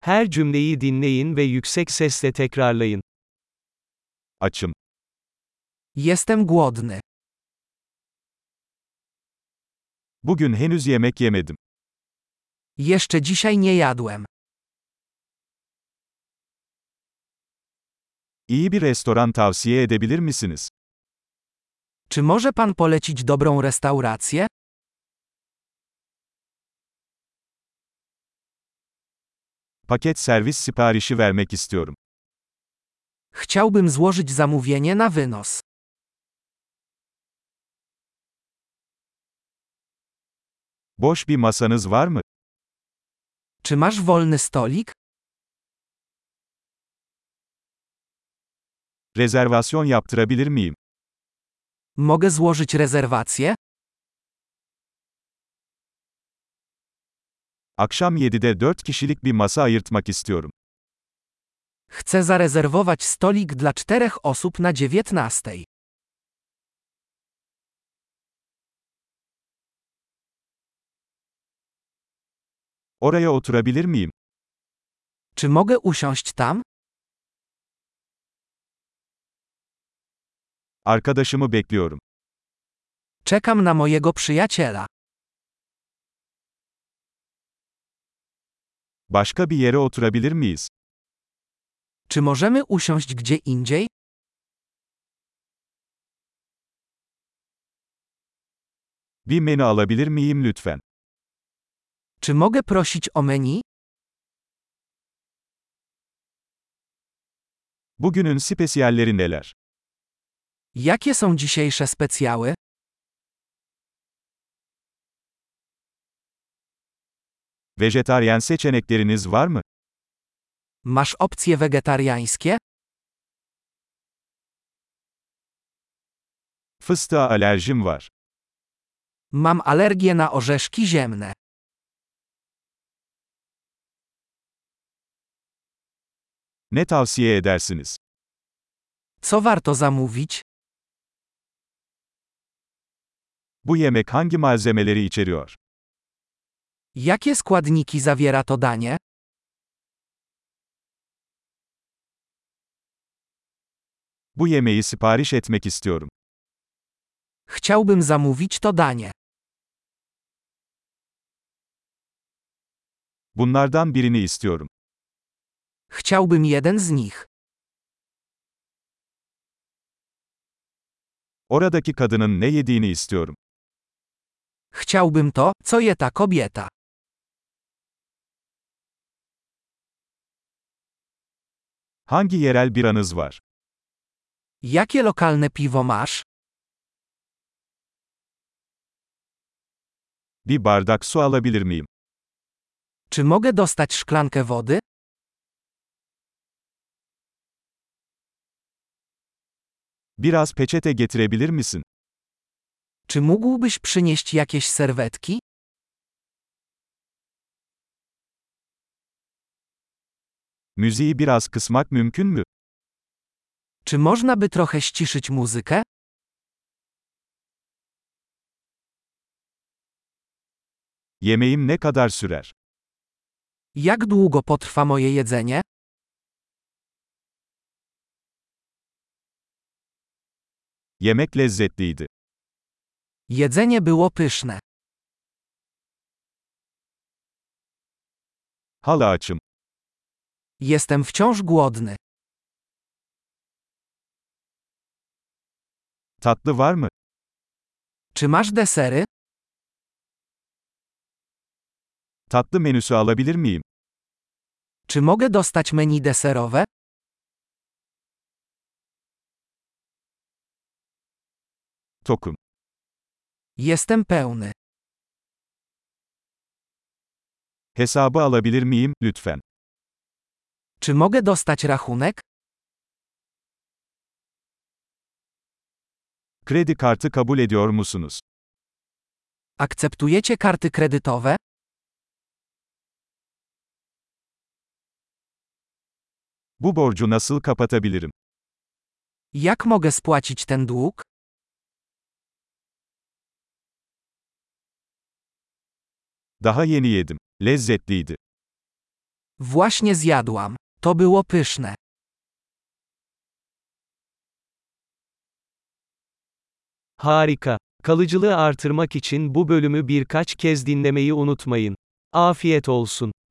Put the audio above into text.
Her cümleyi dinleyin ve yüksek sesle tekrarlayın. Açım. Jestem głodny. Bugün henüz yemek yemedim. Jeszcze dzisiaj nie jadłem. İyi bir restoran tavsiye edebilir misiniz? Czy może pan polecić dobrą restaurację? Paket servis siparişi vermek istiyorum. Chciałbym złożyć zamówienie na wynos. Boş bir masanız var mı? Czy masz wolny stolik? Rezervasyon yaptırabilir miyim? Mogę złożyć rezerwację? Akşam 7'de 4 kişilik bir masa ayırtmak istiyorum. Chcę zarezerwować stolik dla 4 osób na 19. Oraya oturabilir miyim? Czy mogę usiąść tam? Arkadaşımı bekliyorum. Czekam na mojego przyjaciela. Başka bir yere oturabilir miyiz? Czy możemy usiąść gdzie indziej? Bir menü alabilir miyim lütfen? Czy mogę prosić o menu? Bugünün spesiyalleri neler? Jakie są dzisiejsze specjały? Vejetaryen seçenekleriniz var mı? Masz opcje wegetariańskie? Fıstığa alerjim var. Mam alergię na orzeszki ziemne. Ne tavsiye edersiniz? Co warto zamówić? Bu yemek hangi malzemeleri içeriyor? Jakie składniki zawiera to danie? Bu yemeği sipariş etmek istiyorum. Chciałbym zamówić to danie. Bunlardan birini istiyorum. Chciałbym jeden z nich. Oradaki kadının ne yediğini istiyorum. Chciałbym to, co je ta kobieta. Hangi yerel biranız var? Jakie lokalne piwo masz? Bir bardak su alabilir miyim? Czy mogę dostać szklankę wody? Biraz peçete getirebilir misin? Czy mógłbyś przynieść jakieś serwetki? Müziği biraz kısmak mümkün mü? Czy można by trochę ściszyć muzykę? Yemeğim ne kadar sürer? Jak długo potrwa moje jedzenie? Yemek lezzetliydi. Jedzenie było pyszne. Hala açım. Jestem wciąż głodny. Tatlı var mı? Czy masz desery? Tatlı menüsü alabilir miyim? Czy mogę dostać menu deserowe? Tokum. Jestem pełny. Hesabı alabilir miyim, lütfen? Czy mogę dostać rachunek? Kredi kartı kabul ediyor musunuz? Akceptujecie karty kredytowe? Bu borcu nasıl kapatabilirim? Jak mogę spłacić ten dług? Daha yeni yedim. Lezzetliydi. Właśnie zjadłam. To było pyszne. Harika. Kalıcılığı artırmak için bu bölümü birkaç kez dinlemeyi unutmayın. Afiyet olsun.